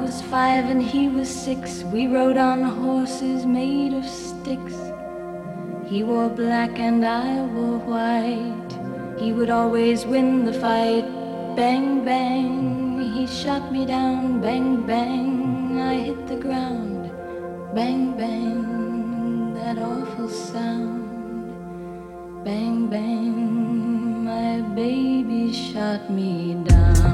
was 5 and he was 6. We rode on horses made of sticks. He wore black and I wore white. He would always win the fight. Bang, bang, he shot me down. Bang, bang, I hit the ground. Bang, bang, that awful sound. Bang, bang, my baby shot me down.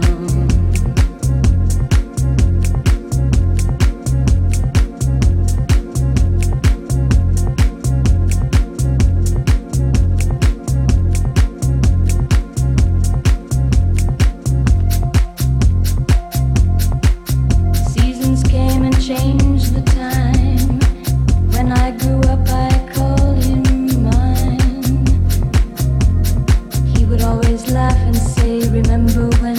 Changed the time. When I grew up I called him mine. He would always laugh and say, remember when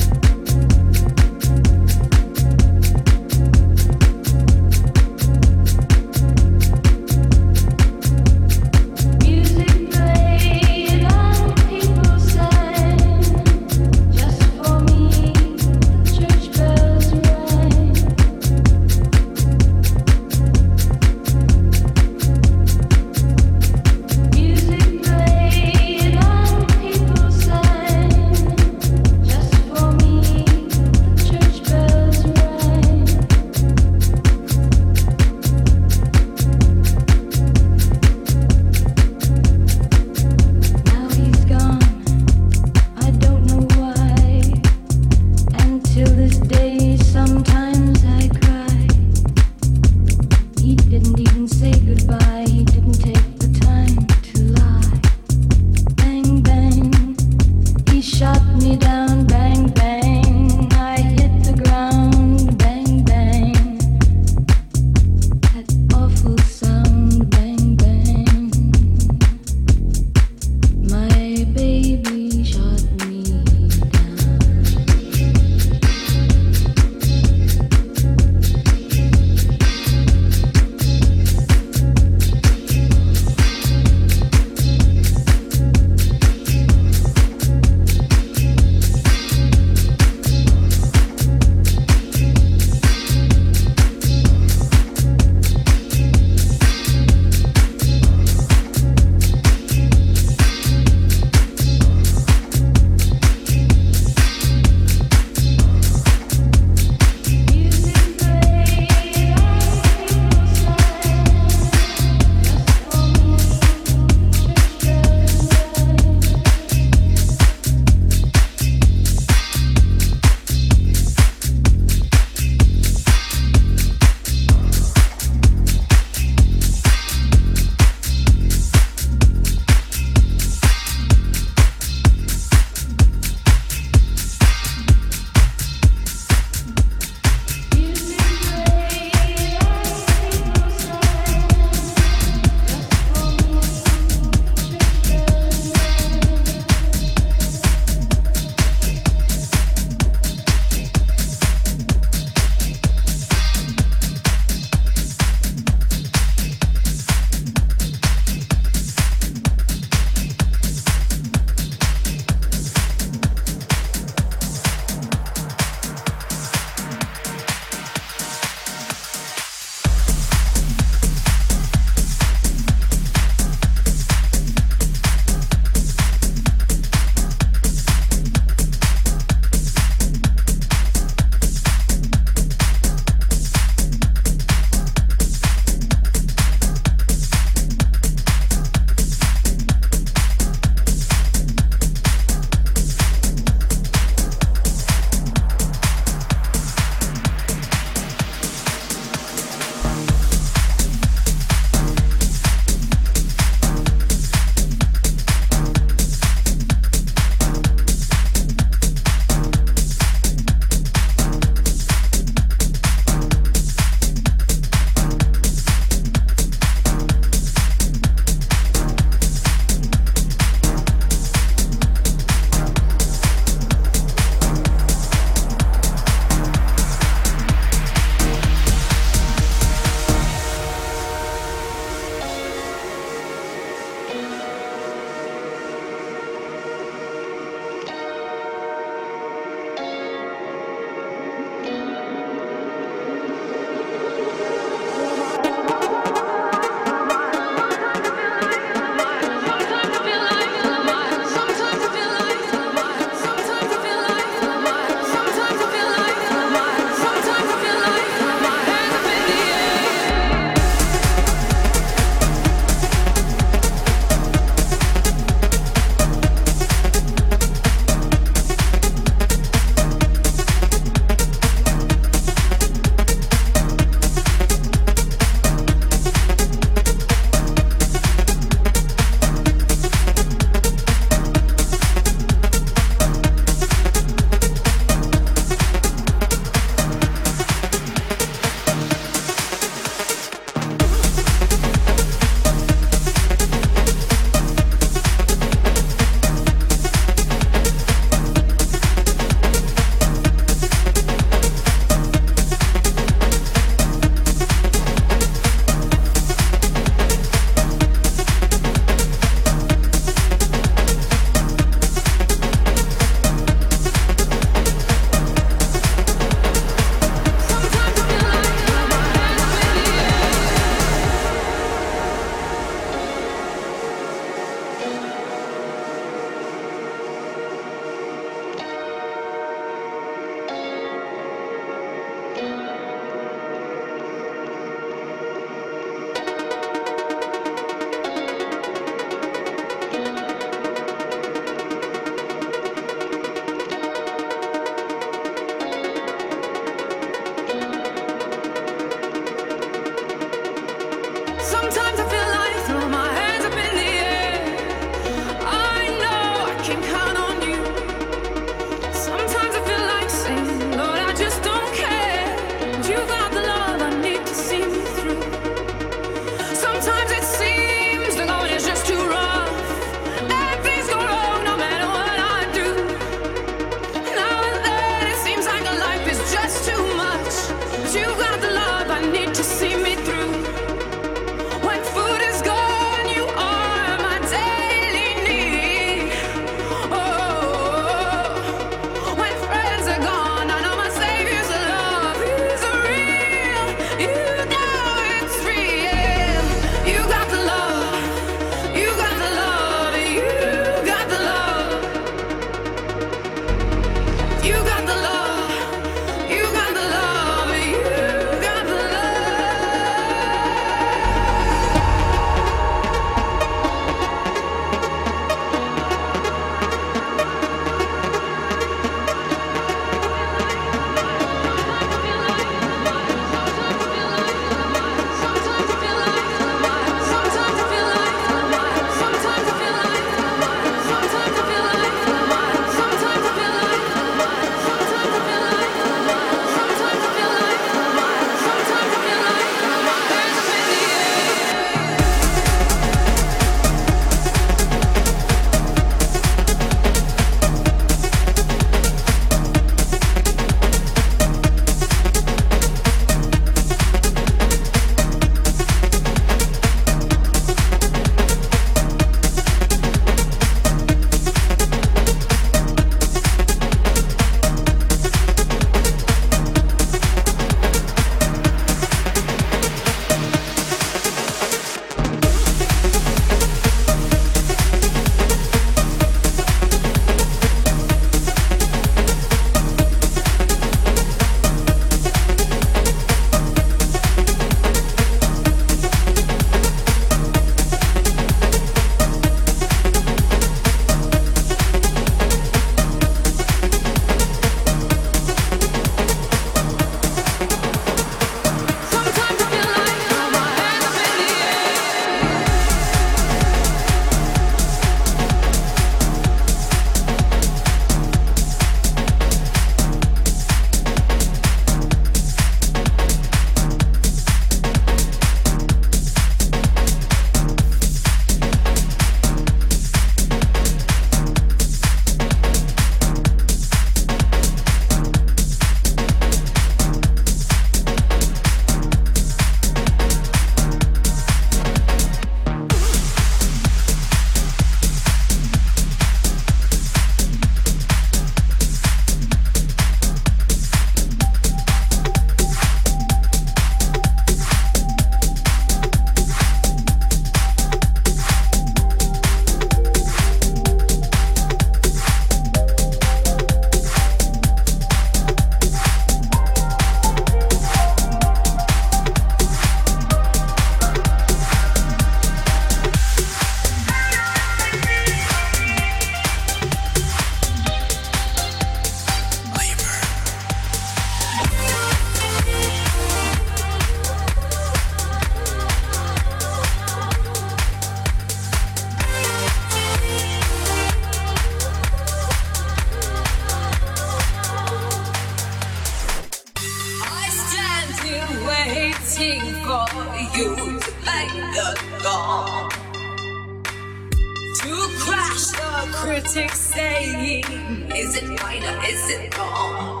critics saying, is it right or is it wrong?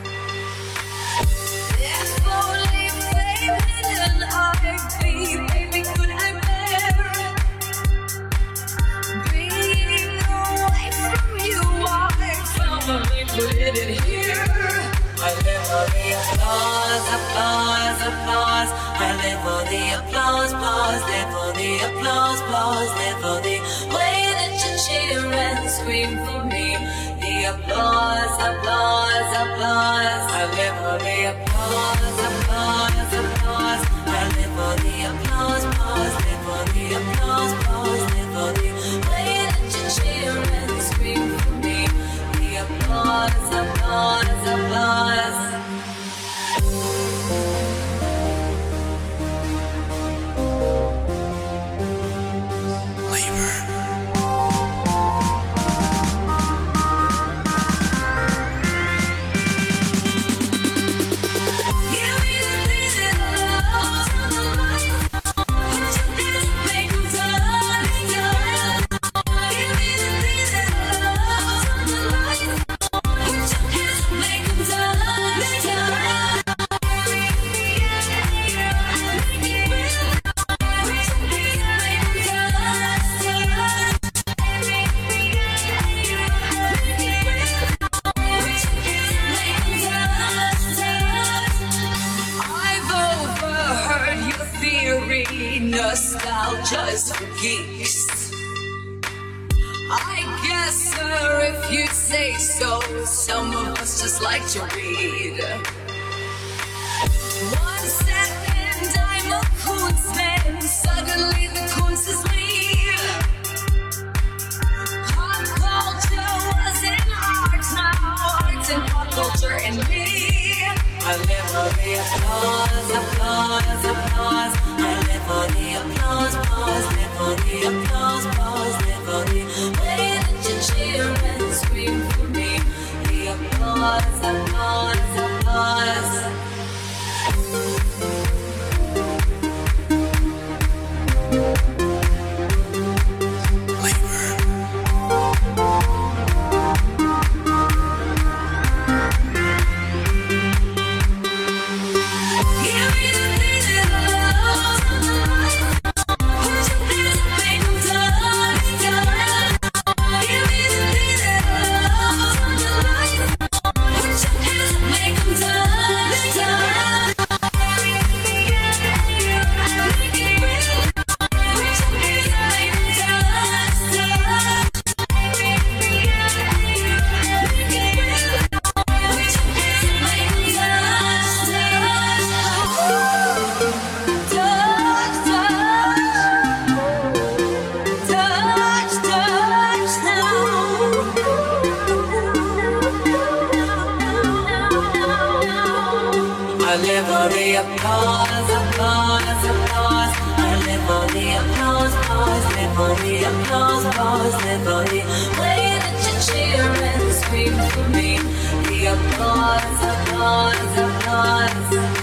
If only fame hidden I'd be, baby, could I bear being away from you? I finally put it here. I live for the applause, applause, applause. I live for the applause, applause. Live for the applause, applause. Live for the way that you cheer and scream for me. The applause, applause, applause. I live for the applause, applause, applause. I live for the applause, applause. Live for the applause, applause. Live for the way that you cheer and scream for me. The applause, applause, applause. Nostalgia's for geeks. I guess, sir, if you say so, some of us just like to read. 1 second I'm a Kunstman, suddenly the Kunst is me. Pop culture was in art, now art's in pop culture in me. I live for the applause, applause, applause. I live for the applause, applause. Live for the applause, applause. Live for the way that you cheer and scream for me. The applause, applause, applause. I live for the applause, applause, applause. I live for the applause, applause. Live for the applause, applause. Live for the way that you cheer and scream for me. The applause, applause, applause.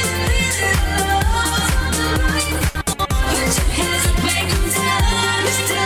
Put your hands up, make them dance.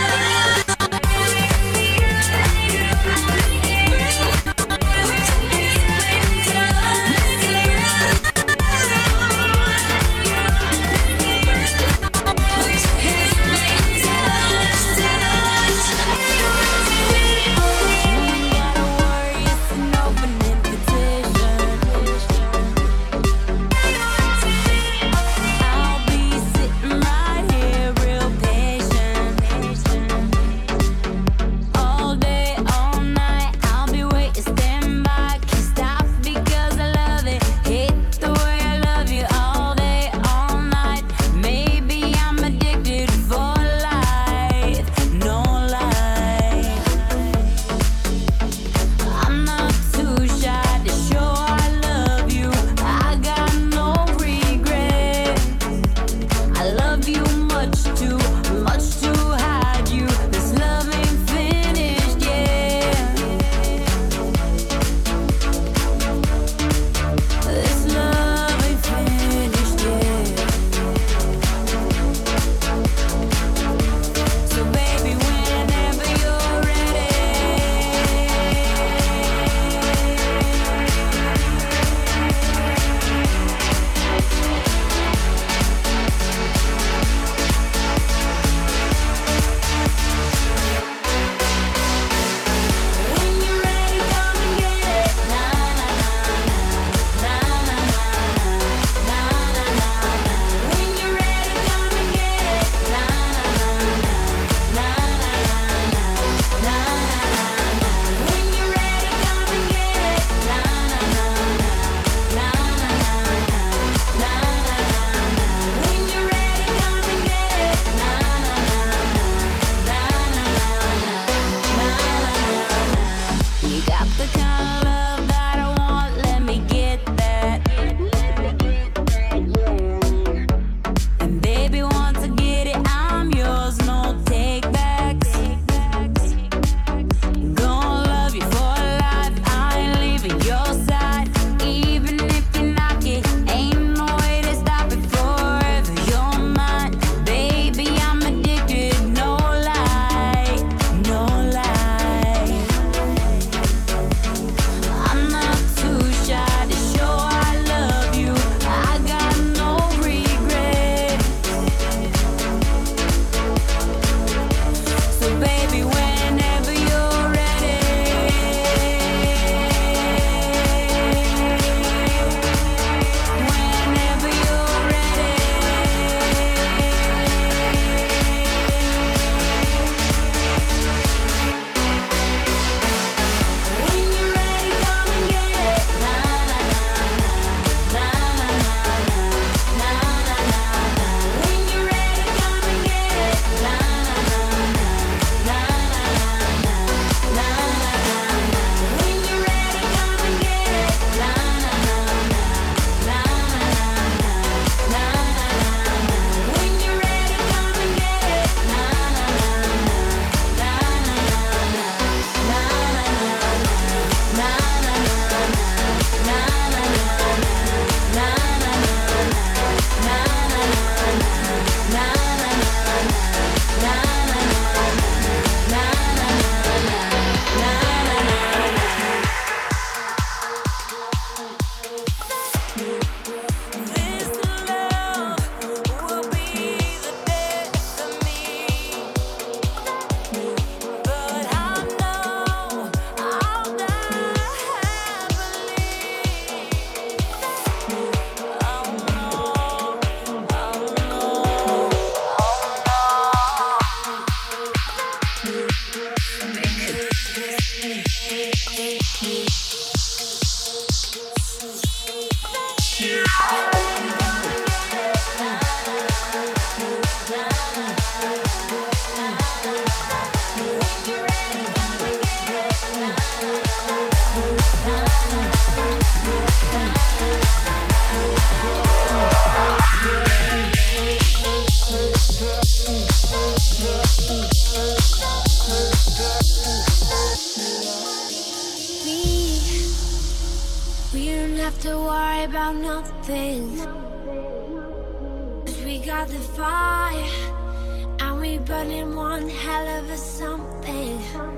have to worry about nothing. 'Cause we got the fire, and we burning one hell of a something.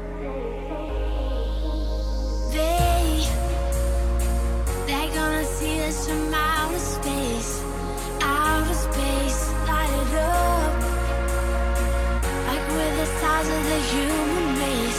They're gonna see us from outer space, light it up. Like we're the size of the human race.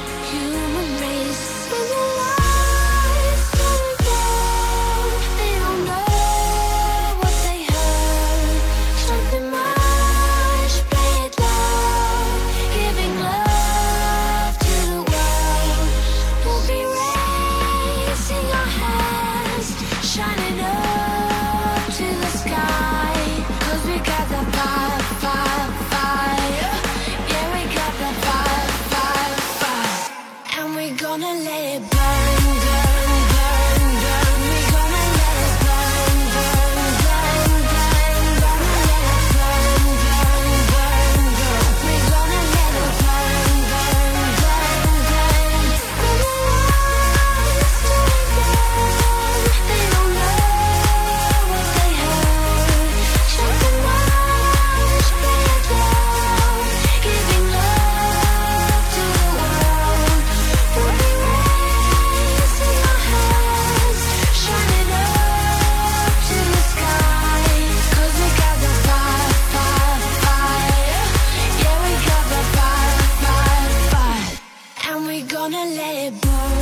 When the lights turn down, they don't know what they heard. Something much, play it loud, giving love to the world. We'll be raising our hands, shining up to the sky. 'Cause we got the fire, fire, fire. Yeah, we got the fire, fire, fire. And we're gonna let it burn, burn, burn, burn. We're gonna let it burn, burn, burn, burn. Gonna let it burn, burn, burn, burn. We're gonna let it burn, burn, burn, burn. When the lights turn down, they don't know what they heard. Something much, play it loud, giving love to the world. We'll be raising our hands, shining up to the sky. 'Cause we got the fire, fire, fire. Yeah, we got the fire, fire, fire. And we're gonna let it burn.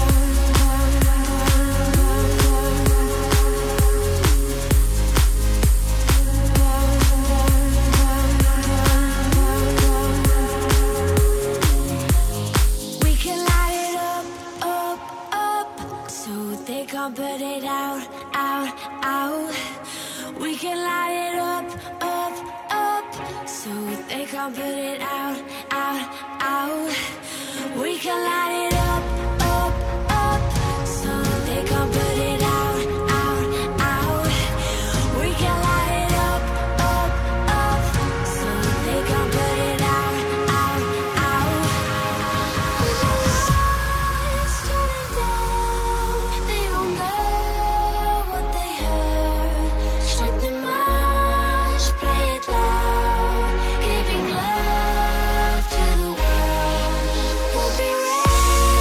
We can light it up, up, up, so they can't put it out, out, out. We can light it up, up, up, so they can't put it out, out, out. We can light it up, up, so they can't put it out, out, out. We can light it up, up, so they can't put it out, out, out. When the lights turn down, they don't know what they heard. Something much, play it loud, giving love to the world. We'll be ready.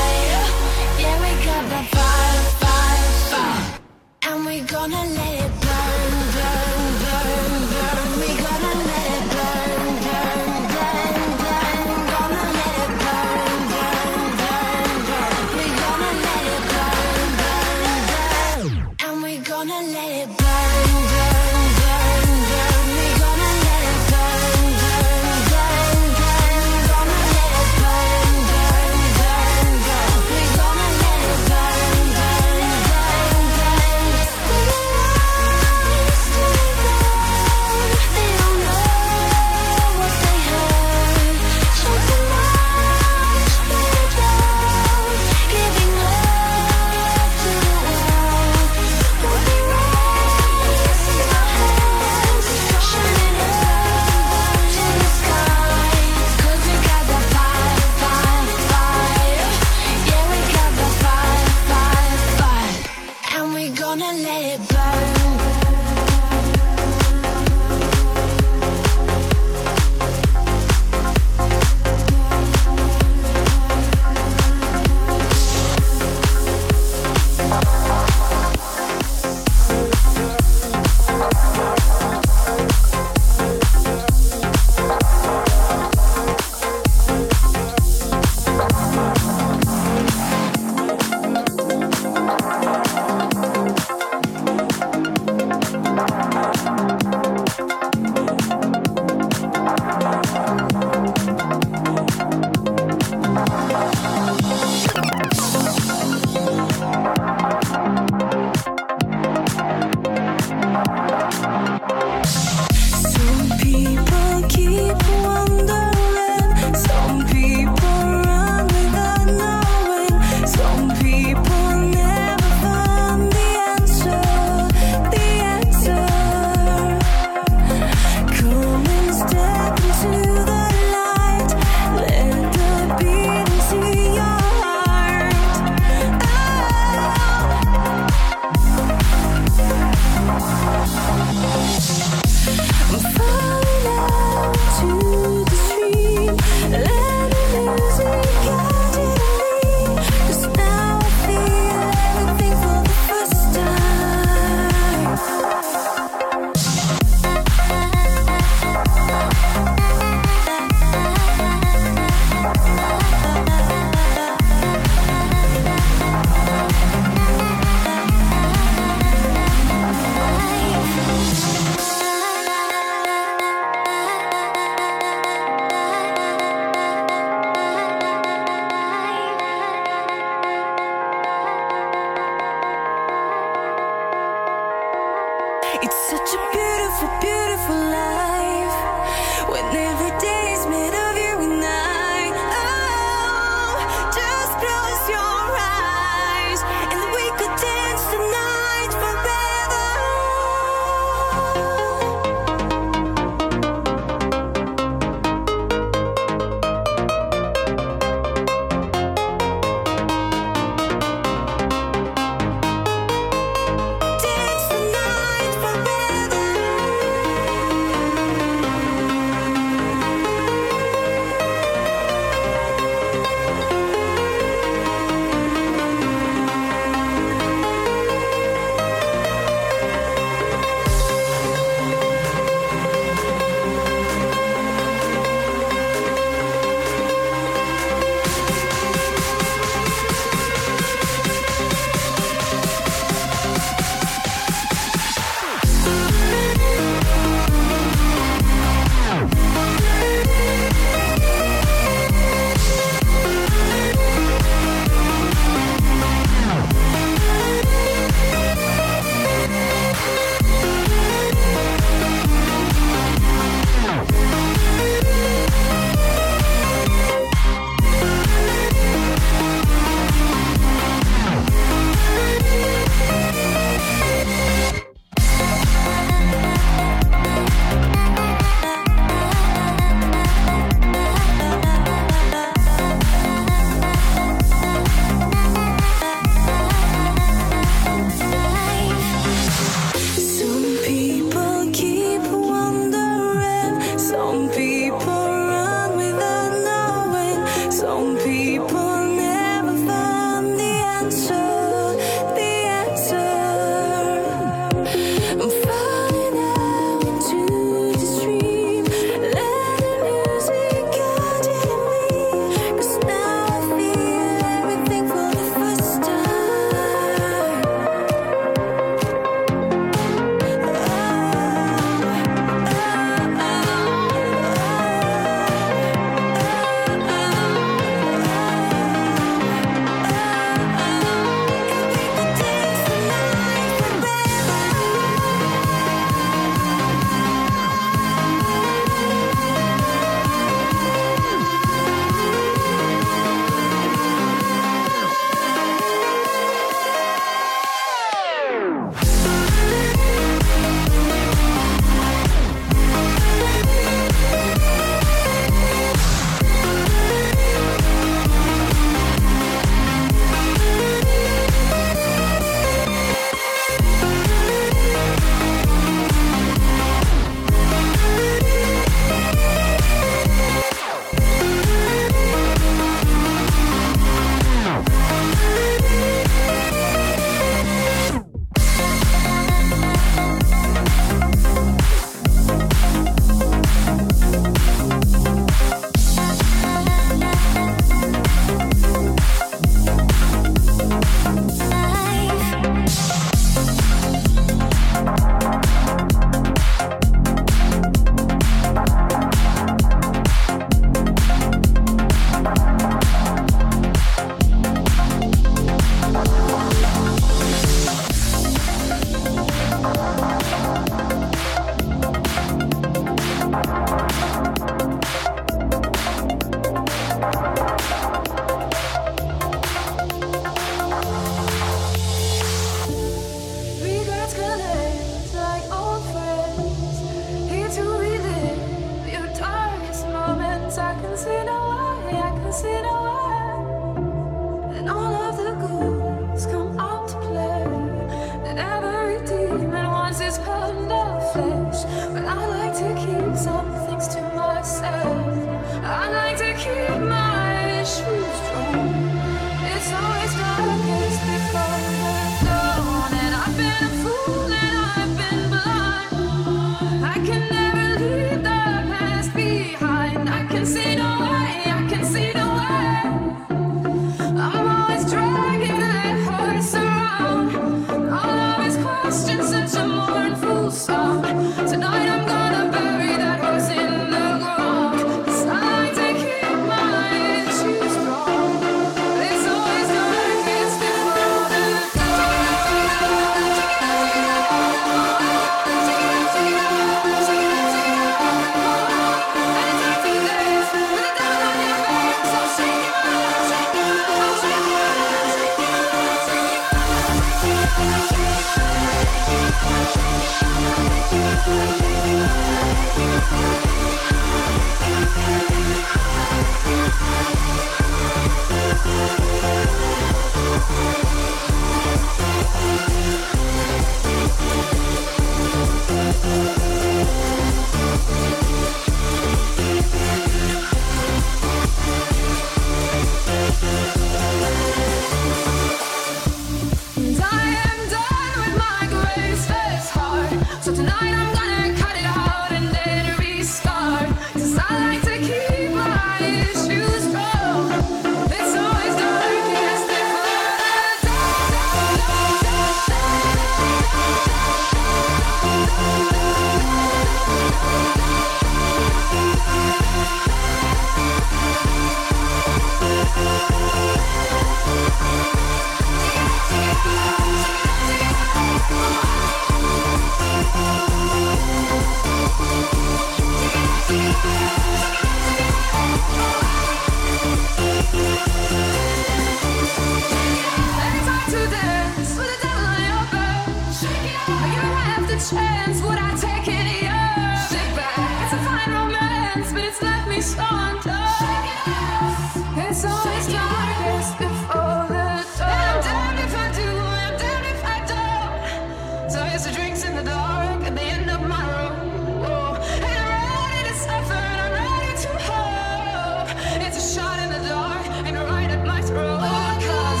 Chance, would I take any of it back? It's a fine romance, but it's left me so undone. It's always darkest before the dawn. And I'm damned if I do, I'm damned if I don't. So here's the drinks in the dark at the end of my room. Oh, and I'm ready to suffer, and I'm ready to hope. It's a shot in the dark, and right at my throat. 'Cause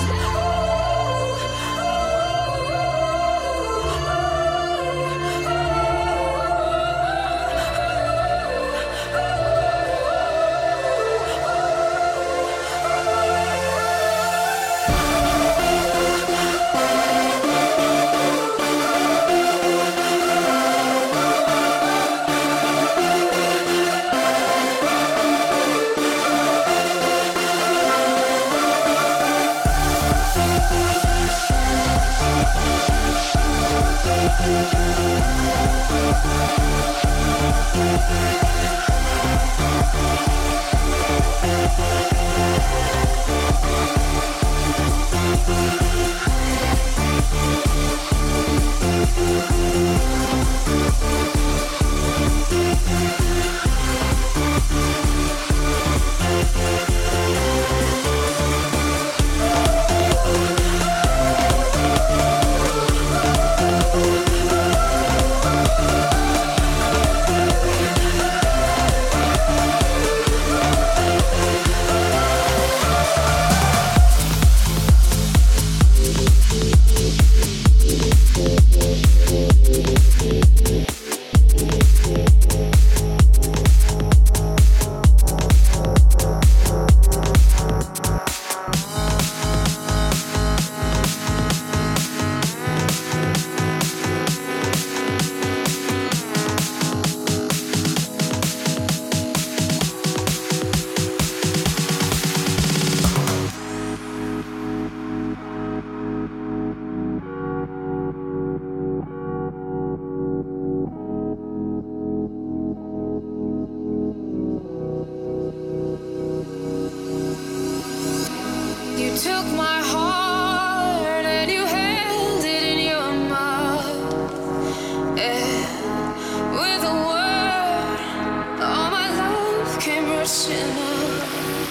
took my heart and you held it in your mouth. And with a word, all my love came rushing up.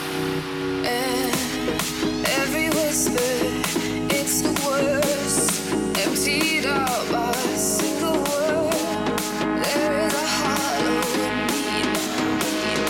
And every whisper, it's the worst, emptied out by a single word. There is a hollow in me now.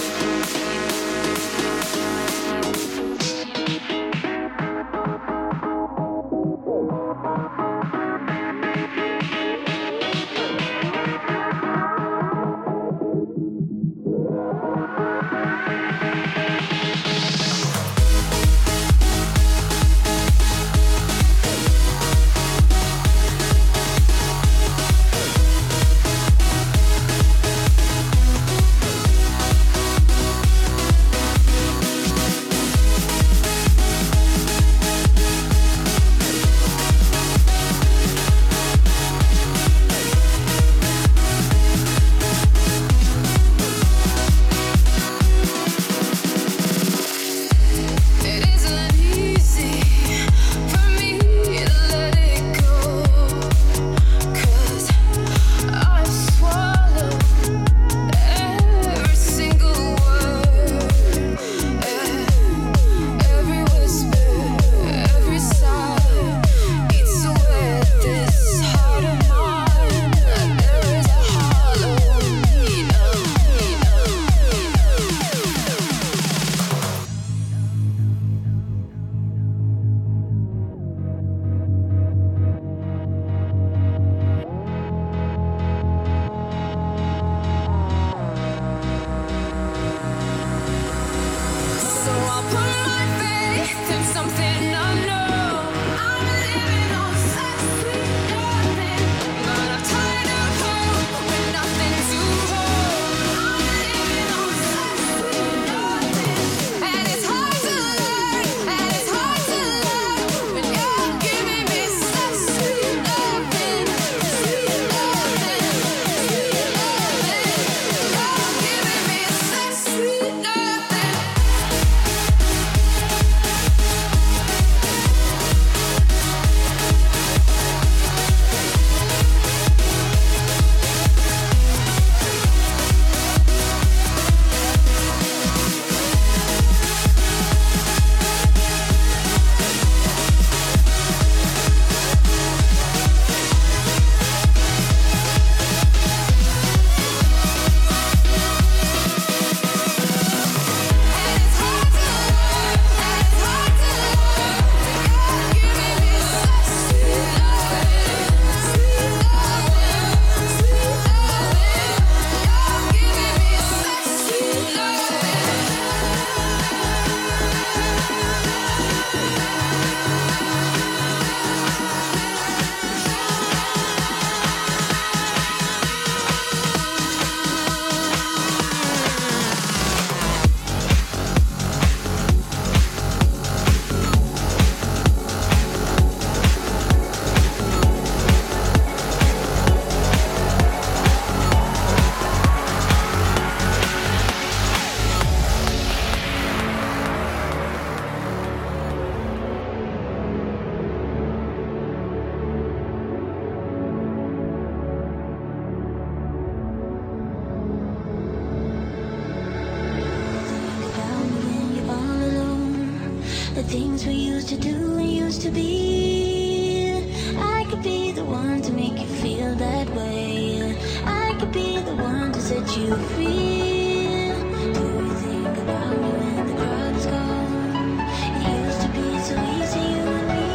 things we used to do and used to be. I could be the one to make you feel that way. I could be the one to set you free. Do you think about me when the crowd is gone? It used to be so easy, you and me.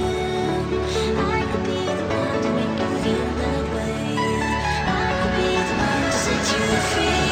I could be the one to make you feel that way. I could be the one to set you free.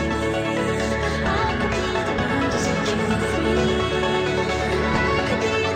Could be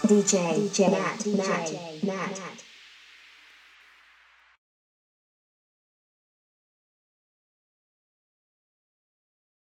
DJ Nat.